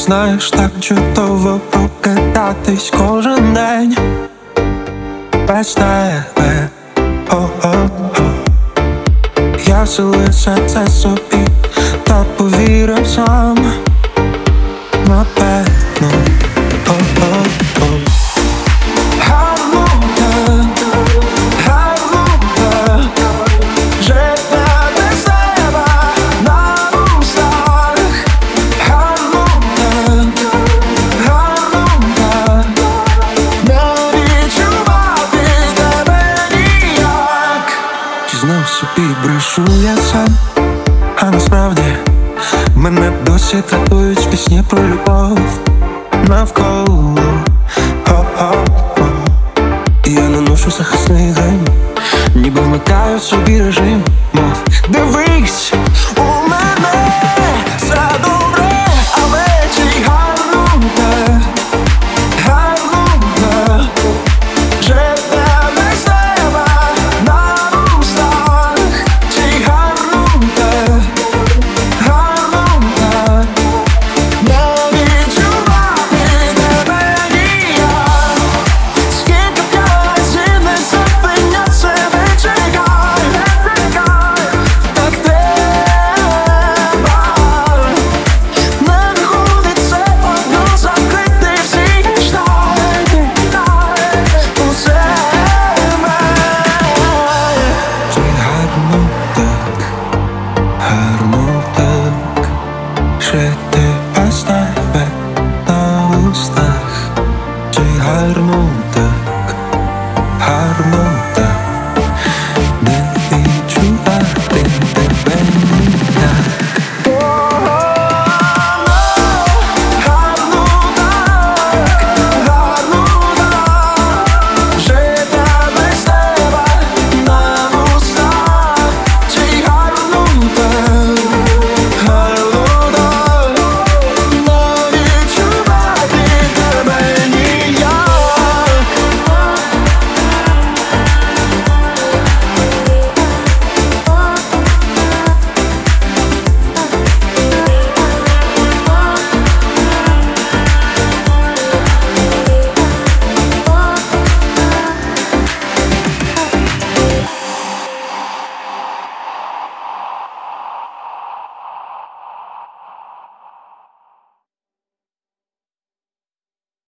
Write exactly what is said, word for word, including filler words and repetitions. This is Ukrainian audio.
знаєш, так чудово прокидатись кожен день без тебе. О-о-о. Я вселився це собі та повірив сам, напевно. О-о-о. Гарно так, гарно так, життя без тебе на устах. Гарно так, гарно так, не відчувати тебе ніяк. Чи знов собі брешу я сам, а насправді мене досі тратують пісні про любов навколо. О-о-о. І я наношу захисний грим, ніби вмикаю собі режим.